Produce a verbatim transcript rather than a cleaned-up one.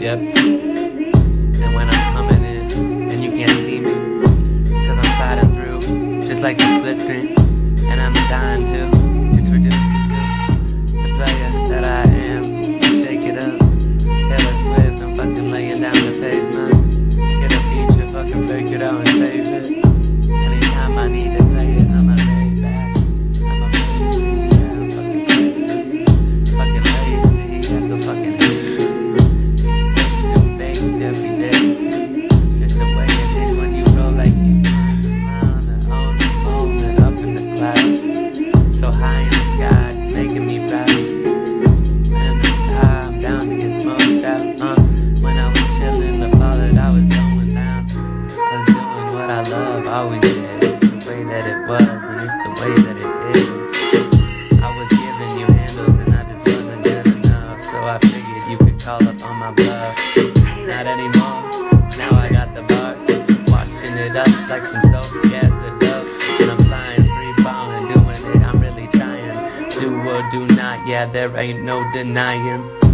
Yep. And when I'm coming in and you can't see me, it's cause I'm sliding through, just like a split screen. And I'm dying to introduce you to the player that I am. Shake it up, Taylor Swift, I'm fucking laying down the pavement. Get a feature, fucking fake it out and save it. Anytime I need to play it, I'ma lay back. I'm a lazy, yeah, I'm fucking crazy. Fucking lazy, that's so fucking hazy. You baked every day, see. It's just the way it is when you roll like you on the own the moment up in the clouds. So high in the sky, just making me proud. Man, it's high, I'm down to get smoked out. Uh, when I was chillin', the fall that I was going down. I was doing what I love, always did. It's the way that it was, and it's the way that it is. I was giving you handles, and I just wasn't good enough. So I figured you could call up on my bluff. Not anymore, now I got the bars. Watching it up like some sulfuric acid up. And I'm flying free falling, doing it, I'm really trying. Do or do not, yeah, there ain't no denying.